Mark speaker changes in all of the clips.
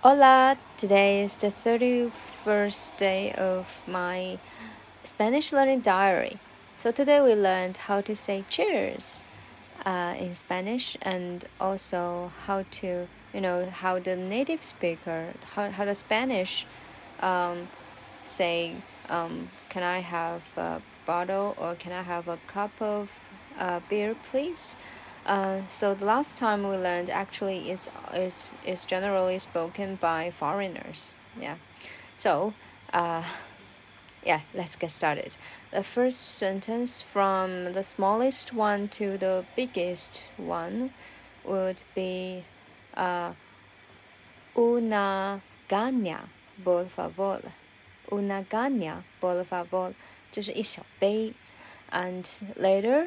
Speaker 1: Hola, today is the 31st day of my Spanish learning diary. So today we learned how to say cheers in Spanish, and also how to, how the native speaker, how the Spanish say, can I have a bottle, or can I have a cup of beer, please? So the last time we learned actually is generally spoken by foreigners. Yeah. So, let's get started. The first sentence from the smallest one to the biggest one would be una caña, por favor. Una caña, por favor. 就是一小杯. And later,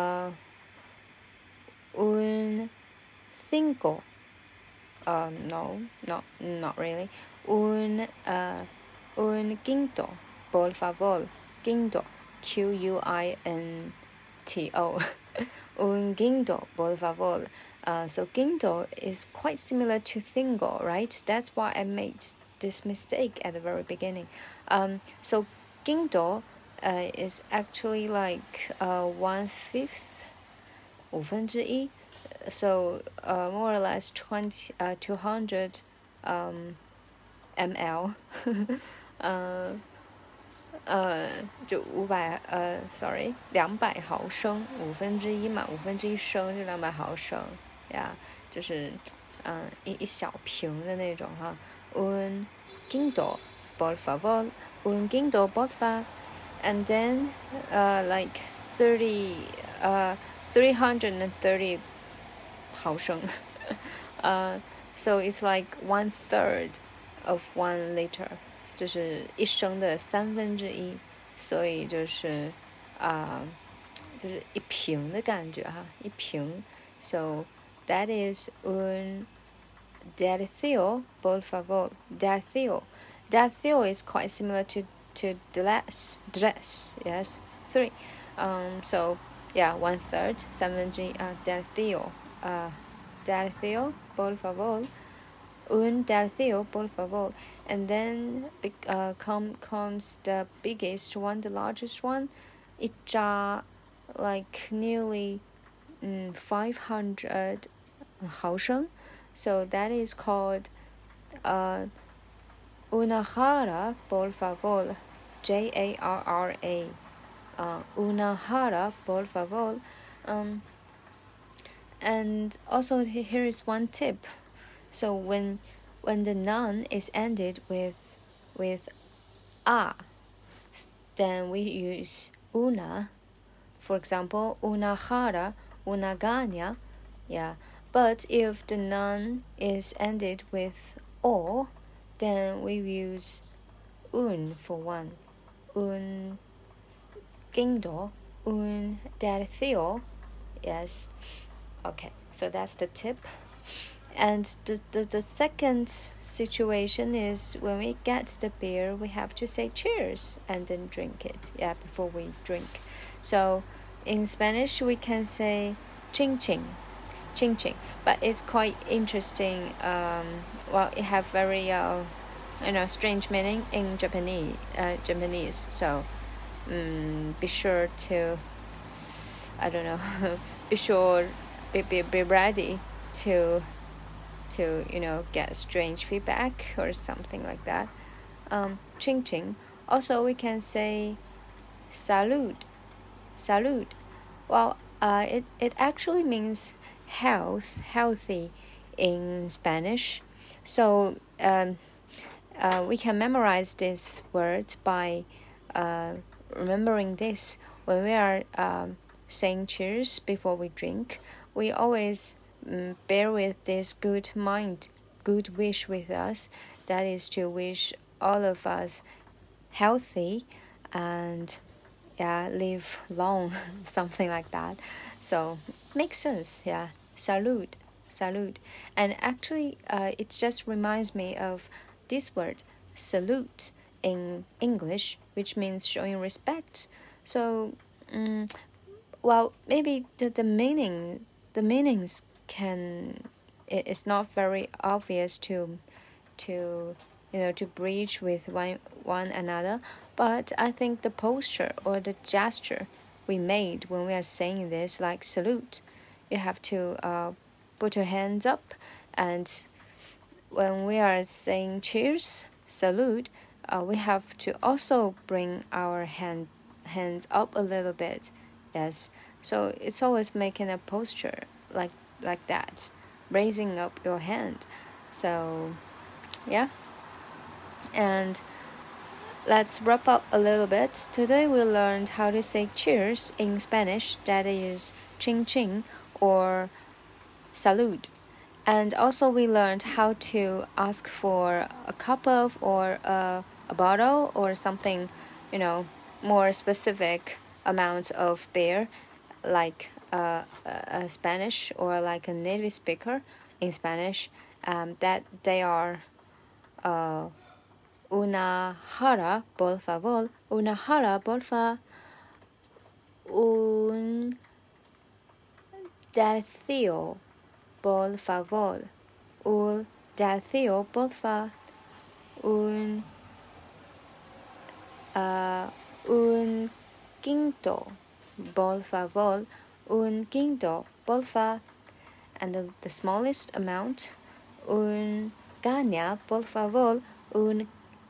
Speaker 1: un cinco. No, not really. Un quinto, por favor. Quinto, Quinto. Un quinto, por favor. So quinto is quite similar to cinco, right? That's why I made this mistake at the very beginning. So quinto is actually like 1/5, 1/5. So more or less 200 ml. 就200毫升，1/5嘛，1/5升就200毫升呀，就是一小瓶的那种哈。Un quinto, por favor. Un quinto, por favor. And then like 330 毫升. So it's like 1/3 of 1 liter. 就是1升的1/3，所以就是一瓶的感觉哈，一瓶。So that is un tercio, por favor. Tercio is quite similar to dress. Yes, 3. So yeah, 1/3, 1/3, tercio, por favor. Un tercio, por favor. And then comes the biggest one, the largest one. 一扎 like nearly 500毫升. So that is called una jarra, por favor. Jarra. Una jarra, por favor. And also here is one tip. So when the noun is ended with a, then we use una. For example, una jarra, una caña. Yeah. But if the noun is ended with o, then we use un for one. Un quinto, un tercio. Yes. Okay, so that's the tip. And the second situation is when we get the beer, we have to say cheers and then drink it. Yeah, before we drink. So in Spanish, we can say ching ching. Ching ching. But it's quite interesting. It have very strange meaning in Japanese. So be sure to, be ready to get strange feedback or something like that. Ching ching. Also, we can say salud. Well, it actually means healthy in Spanish. So we can memorize this word by remembering this. When we are saying cheers before we drink, we always bear with this good wish with us. That is to wish all of us healthy and live long, something like that. So makes sense. Yeah, salud. And actually it just reminds me of this word salute in English, which means showing respect. So maybe the meanings it's not very obvious to to bridge with one another. But I think the posture or the gesture we made when we are saying this, like salute, you have to put your hands up, and when we are saying cheers, salute, we have to also bring our hands up a little bit. Yes, so it's always making a posture like that, raising up your hand. So yeah, and let's wrap up a little bit. Today we learned how to say cheers in Spanish, that is ching ching or salud. And also we learned how to ask for a cup of or a bottle or something, more specific amount of beer, like a Spanish or like a native speaker in Spanish, that they are una jarra, por favor, una jarra, por favor, un tercio, por favor, un tercio, por favor, un quinto, por favor, un quinto, por favor, and the smallest amount, un caña, por favor, una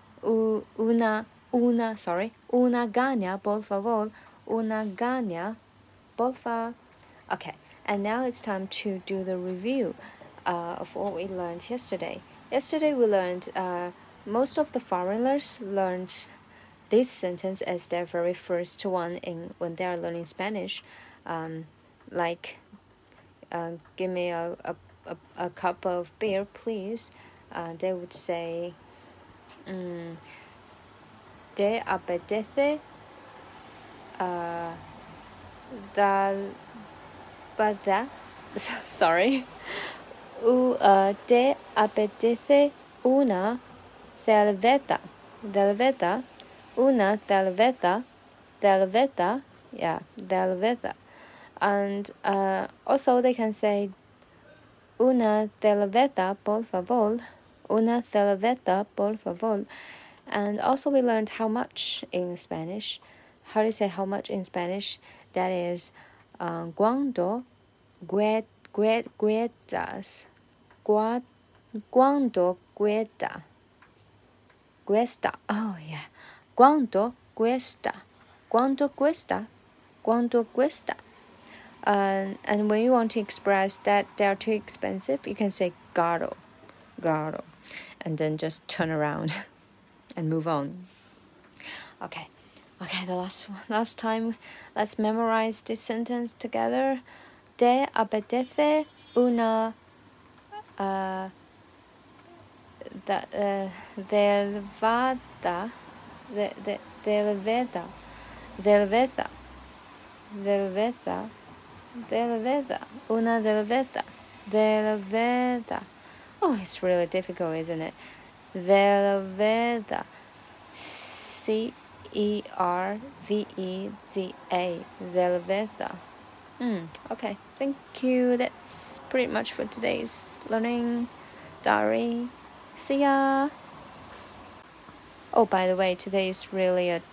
Speaker 1: caña, por favor, una caña, por favor. Okay, and now it's time to do the review of what we learned yesterday. Yesterday we learned most of the foreigners learned this sentence as their very first one when they are learning Spanish, like give me a cup of beer, please. They would say, ¿te apetece sorry. ¿Te apetece una cerveza? Una cerveza. Yeah, cerveza. And also they can say una cerveza, por favor. Una cerveza, por favor. And also we learned how much in Spanish. How to say how much in Spanish? That is cuánto cuestas. Cuánto cuesta. Cuesta. Oh yeah. Cuánto cuesta. Cuánto cuesta. Cuánto cuesta. And when you want to express that they are too expensive, you can say caro. And then just turn around and move on. Okay, the last time, let's memorize this sentence together. ¿Te apetece una una cerveza. Oh, it's really difficult, isn't it? Cerveza. Cerveza. Cerveza. Okay, thank you. That's pretty much for today's learning diary. See ya. Oh, by the way, today is really a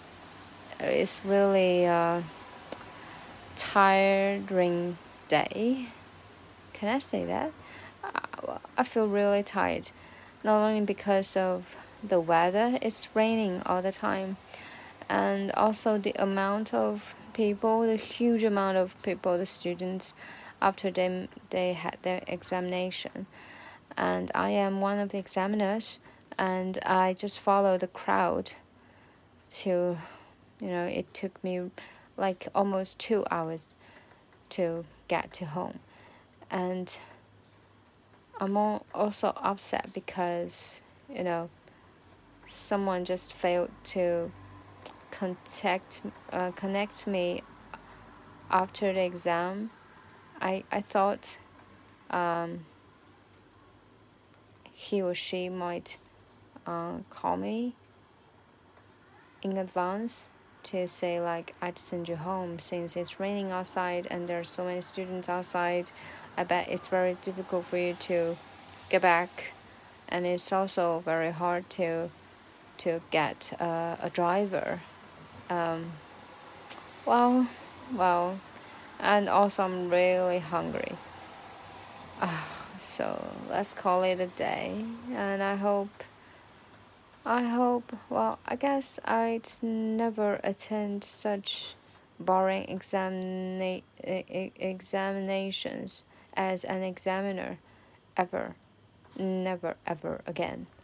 Speaker 1: tiring day. Can I say that? I feel really tired, not only because of the weather, it's raining all the time, and also the amount of people, the huge amount of people, the students, after they had their examination. And I am one of the examiners, and I just follow the crowd to, it took me like almost 2 hours to get to home. And I'm also upset because, someone just failed to connect me after the exam. I thought he or she might call me in advance to say like, I'd send you home since it's raining outside and there are so many students outside. I bet it's very difficult for you to get back and it's also very hard to get a driver. Well, and also I'm really hungry. So let's call it a day, and I hope, well, I guess I'd never attend such boring examinations as an examiner ever. Never ever again.